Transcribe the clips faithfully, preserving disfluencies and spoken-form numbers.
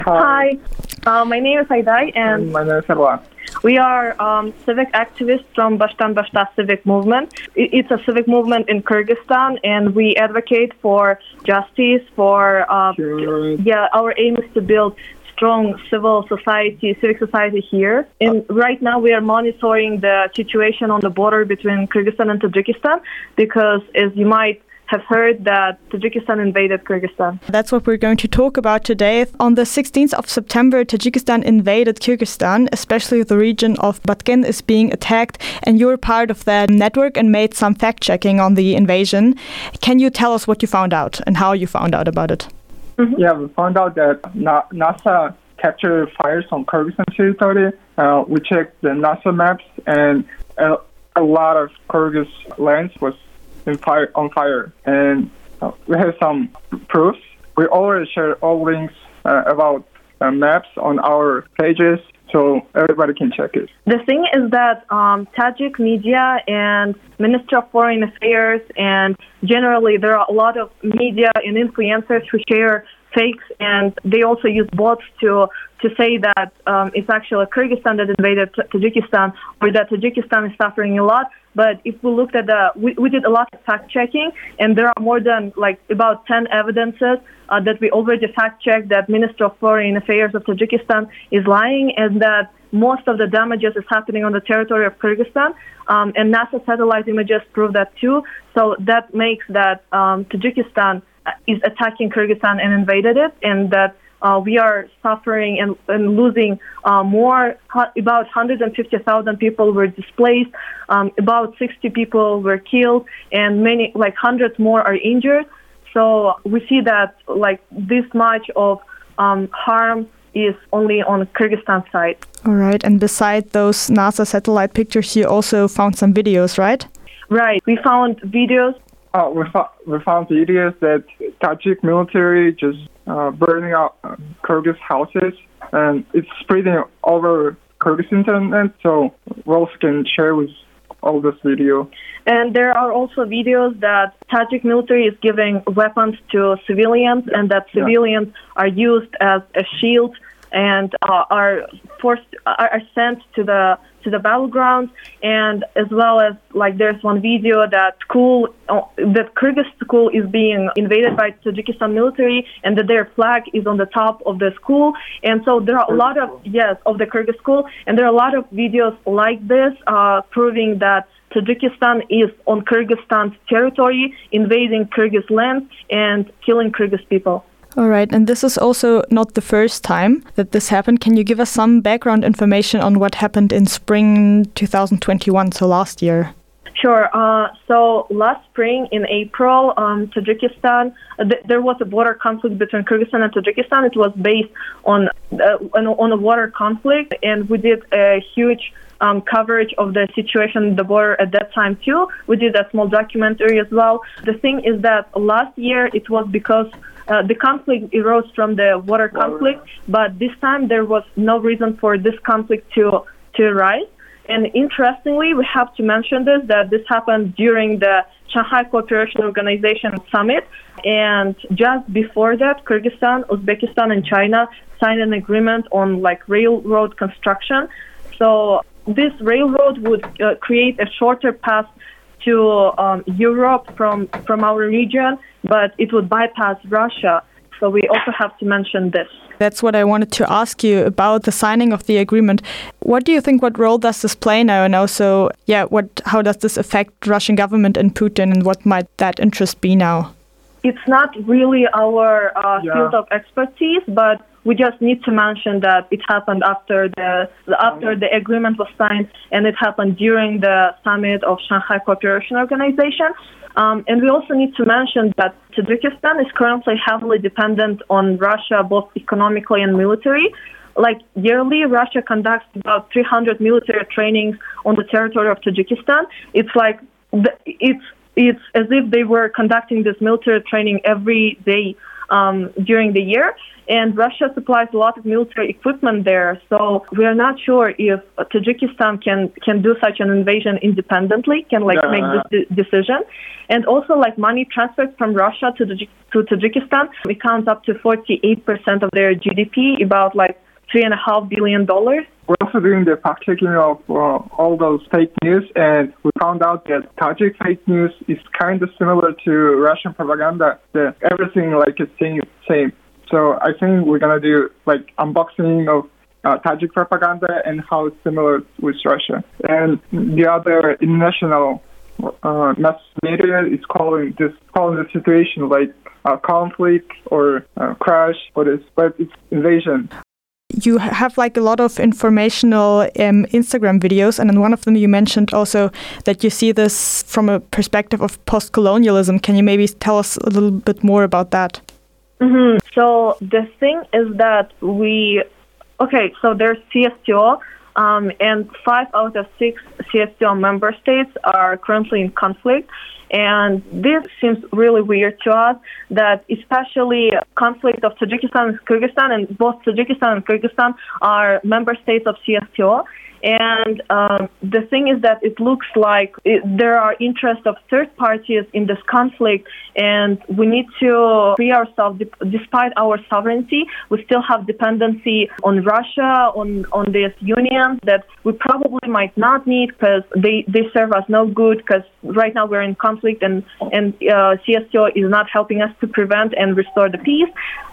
Hi, uh, my name is Haydai, and And my name is Erwan. we are um, civic activists from Bashtan Bashta Civic Movement. I- It's a civic movement in Kyrgyzstan, and we advocate for justice, for, uh, Sure. yeah, our aim is to build strong civil society, civic society here. And right now we are monitoring the situation on the border between Kyrgyzstan and Tajikistan, because as you might have heard that Tajikistan invaded Kyrgyzstan. That's what we're going to talk about today. On the sixteenth of September, Tajikistan invaded Kyrgyzstan, especially the region of Batken is being attacked, and you're part of that network and made some fact-checking on the invasion. Can you tell us what you found out and how you found out about it? Yeah, we found out that Na- NASA captured fires on Kyrgyzstan territory. Uh, we checked the NASA maps, and a, a lot of Kyrgyz lands was in fire, on fire. And uh, we have some proofs. We already shared all links uh, about uh, maps on our pages, so everybody can check it. The thing is that um, Tajik media and Ministry of Foreign Affairs, and generally there are a lot of media and influencers who share fakes, and they also use bots to to say that um, it's actually Kyrgyzstan that invaded T- Tajikistan, or that Tajikistan is suffering a lot. But if we looked at the, we, we did a lot of fact checking, and there are more than like about ten evidences uh, that we already fact checked that Minister of Foreign Affairs of Tajikistan is lying, and that most of the damages is happening on the territory of Kyrgyzstan. Um, and NASA satellite images prove that too. So that makes that um, Tajikistan is attacking Kyrgyzstan and invaded it, and that Uh, we are suffering and, and losing uh, more. Hu- about one hundred fifty thousand people were displaced. Um, about sixty people were killed, and many, like hundreds more, are injured. So we see that like this much of um, harm is only on Kyrgyzstan side. All right, and beside those NASA satellite pictures, you also found some videos, right? Right. We found videos. Oh, we, fo- we found videos that Tajik military just uh, burning out uh, Kyrgyz houses, and it's spreading over Kyrgyz internet, so we also can share with all this video. And there are also videos that Tajik military is giving weapons to civilians, and that civilians are used as a shield and uh, are forced are are sent to the to the battlegrounds. And as well as like there's one video that school uh, that Kyrgyz school is being invaded by Tajikistan military, and that their flag is on the top of the school. And so there are a lot of yes of the Kyrgyz school, and there are a lot of videos like this uh, proving that Tajikistan is on Kyrgyzstan's territory, invading Kyrgyz land and killing Kyrgyz people. All right, and this is also not the first time that this happened. Can you give us some background information on what happened in spring twenty twenty-one, so last year? Sure. Uh, so last spring in April, um, Tajikistan, uh, th- there was a border conflict between Kyrgyzstan and Tajikistan. It was based on uh, on, on a water conflict, and we did a huge um, coverage of the situation at the border at that time too. We did a small documentary as well. The thing is that last year it was because Uh, the conflict arose from the water conflict, but this time there was no reason for this conflict to to arise. And interestingly, we have to mention this, that this happened during the Shanghai Cooperation Organization Summit. And just before that, Kyrgyzstan, Uzbekistan, and China signed an agreement on like railroad construction. So this railroad would uh, create a shorter path to um, Europe from, from our region, but it would bypass Russia. So we also have to mention this. That's what I wanted to ask you about the signing of the agreement. What do you think, what role does this play now? And also, yeah, what how does this affect Russian government and Putin, and what might that interest be now? It's not really our uh, Yeah. field of expertise, but we just need to mention that it happened after the after the agreement was signed, and it happened during the summit of Shanghai Cooperation Organization. Um, and we also need to mention that Tajikistan is currently heavily dependent on Russia, both economically and military. Like yearly, Russia conducts about three hundred military trainings on the territory of Tajikistan. It's like the, it's it's as if they were conducting this military training every day um, during the year. And Russia supplies a lot of military equipment there. So we are not sure if Tajikistan can, can do such an invasion independently, can like Yeah. make this de- decision. And also like money transfers from Russia to, Taj- to Tajikistan, it counts up to forty-eight percent of their G D P, about like three and a half billion dollars. We're also doing the fact checking of uh, all those fake news, and we found out that Tajik fake news is kind of similar to Russian propaganda. The, everything like is same, same. So I think we're gonna do like unboxing of uh, Tajik propaganda and how it's similar with Russia. And the other international uh, mass media is calling this calling the situation like a conflict or a crash, but it's but it's invasion. You have like a lot of informational um, Instagram videos, and in one of them you mentioned also that you see this from a perspective of post-colonialism. Can you maybe tell us a little bit more about that? Mm-hmm. So the thing is that we, okay, so there's C S T O, um, and five out of six C S T O member states are currently in conflict. And this seems really weird to us, that especially conflict of Tajikistan and Kyrgyzstan, and both Tajikistan and Kyrgyzstan are member states of C S T O. And um, the thing is that it looks like it, there are interests of third parties in this conflict, and we need to free ourselves. Despite our sovereignty, we still have dependency on Russia, on, on these unions that we probably might not need because they, they serve us no good, because right now we're in conflict, and, and uh, C S T O is not helping us to prevent and restore the peace.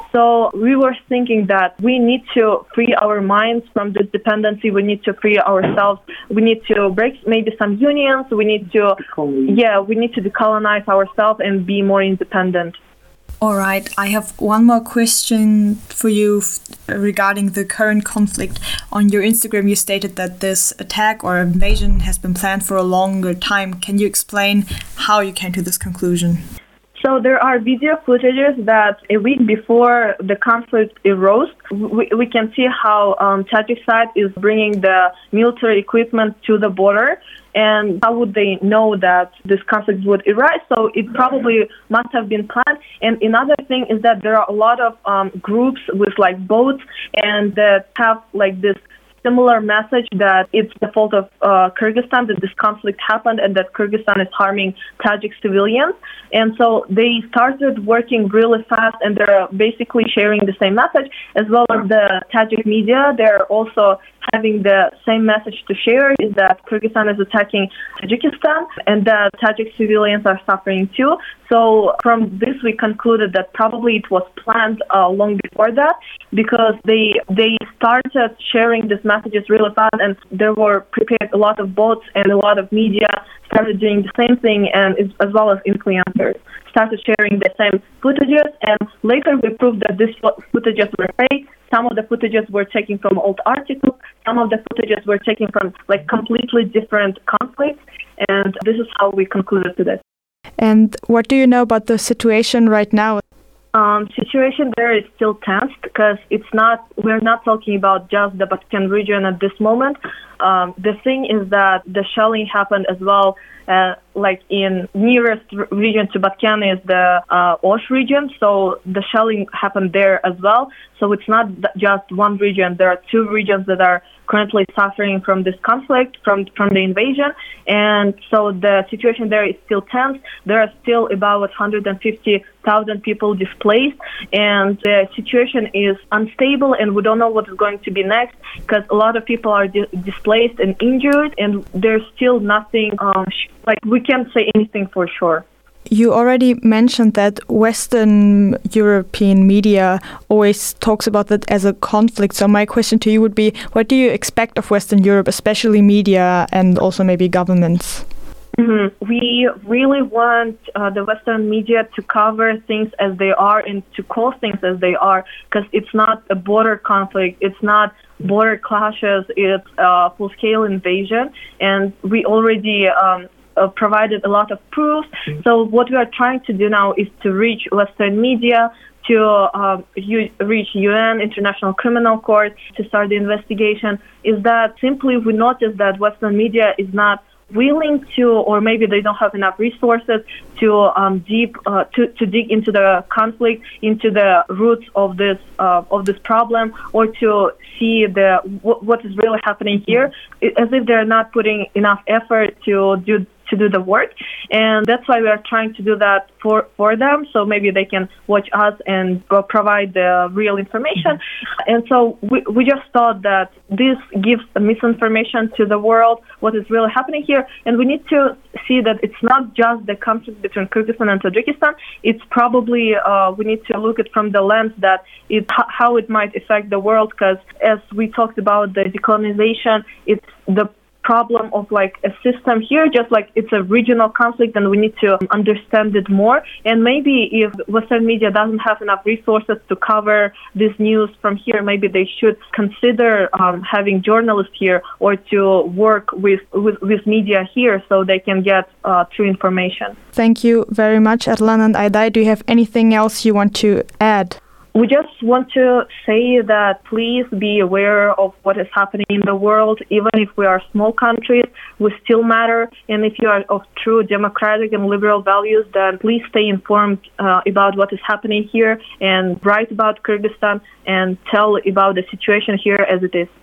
So we were thinking that we need to free our minds from this dependency. We need to free ourselves. We need to break maybe some unions. We need to, yeah, we need to decolonize ourselves and be more independent. All right, I have one more question for you f- regarding the current conflict. On your Instagram, you stated that this attack or invasion has been planned for a longer time. Can you explain how you came to this conclusion? So there are video footages that a week before the conflict arose, we, we can see how um, Tajik side is bringing the military equipment to the border. And how would they know that this conflict would arise? So it probably must have been planned. And another thing is that there are a lot of um, groups with like boats and that have like this similar message that it's the fault of uh, Kyrgyzstan that this conflict happened and that Kyrgyzstan is harming Tajik civilians. And so they started working really fast, and they're basically sharing the same message, as well as the Tajik media. They're also having the same message to share, is that Kyrgyzstan is attacking Tajikistan and that Tajik civilians are suffering too. So from this, we concluded that probably it was planned uh, long before that, because they they started sharing these messages really fast, and there were prepared a lot of bots, and a lot of media started doing the same thing, and as well as influencers started sharing the same footages. And later we proved that these footages were fake. Some of the footages were taken from old articles. Some of the footages were taken from like completely different conflicts. And this is how we concluded to this. And what do you know about the situation right now? Um, situation there is still tense, because it's not, we're not talking about just the Batken region at this moment. Um, the thing is that the shelling happened as well, uh, like in nearest r- region to Batken is the uh, Osh region, so the shelling happened there as well. So it's not th- just one region. There are two regions that are currently suffering from this conflict, from from the invasion, and so the situation there is still tense. There are still about one hundred fifty thousand people displaced, and the situation is unstable, and we don't know what is going to be next, because a lot of people are di- displaced and injured, and there's still nothing, um, sh- like we can't say anything for sure. You already mentioned that Western European media always talks about that as a conflict. So my question to you would be, what do you expect of Western Europe, especially media and also maybe governments? Mm-hmm. We really want uh, the Western media to cover things as they are and to call things as they are, because it's not a border conflict, it's not border clashes, it's a full-scale invasion, and we already um, Uh, provided a lot of proofs. So what we are trying to do now is to reach Western media, to uh, u- reach U N, International Criminal Court, to start the investigation. Is that simply we noticed that Western media is not willing to, or maybe they don't have enough resources to um, deep uh, to, to dig into the conflict, into the roots of this uh, of this problem, or to see the w- what is really happening here, as if they're not putting enough effort to do to do the work. And that's why we are trying to do that for, for them, so maybe they can watch us and go provide the real information. Mm-hmm. And so we, we just thought that this gives misinformation to the world, what is really happening here. And we need to see that it's not just the conflict between Kyrgyzstan and Tajikistan. It's probably, uh, we need to look at from the lens that it, how it might affect the world, because as we talked about the decolonization, it's the problem of like a system here, just like it's a regional conflict, and we need to understand it more. And maybe if Western media doesn't have enough resources to cover this news from here, maybe they should consider um, having journalists here, or to work with, with, with media here so they can get uh, true information. Thank you very much, Erlan and Ayday. Do you have anything else you want to add? We just want to say that please be aware of what is happening in the world. Even if we are small countries, we still matter. And if you are of true democratic and liberal values, then please stay informed uh, about what is happening here, and write about Kyrgyzstan and tell about the situation here as it is.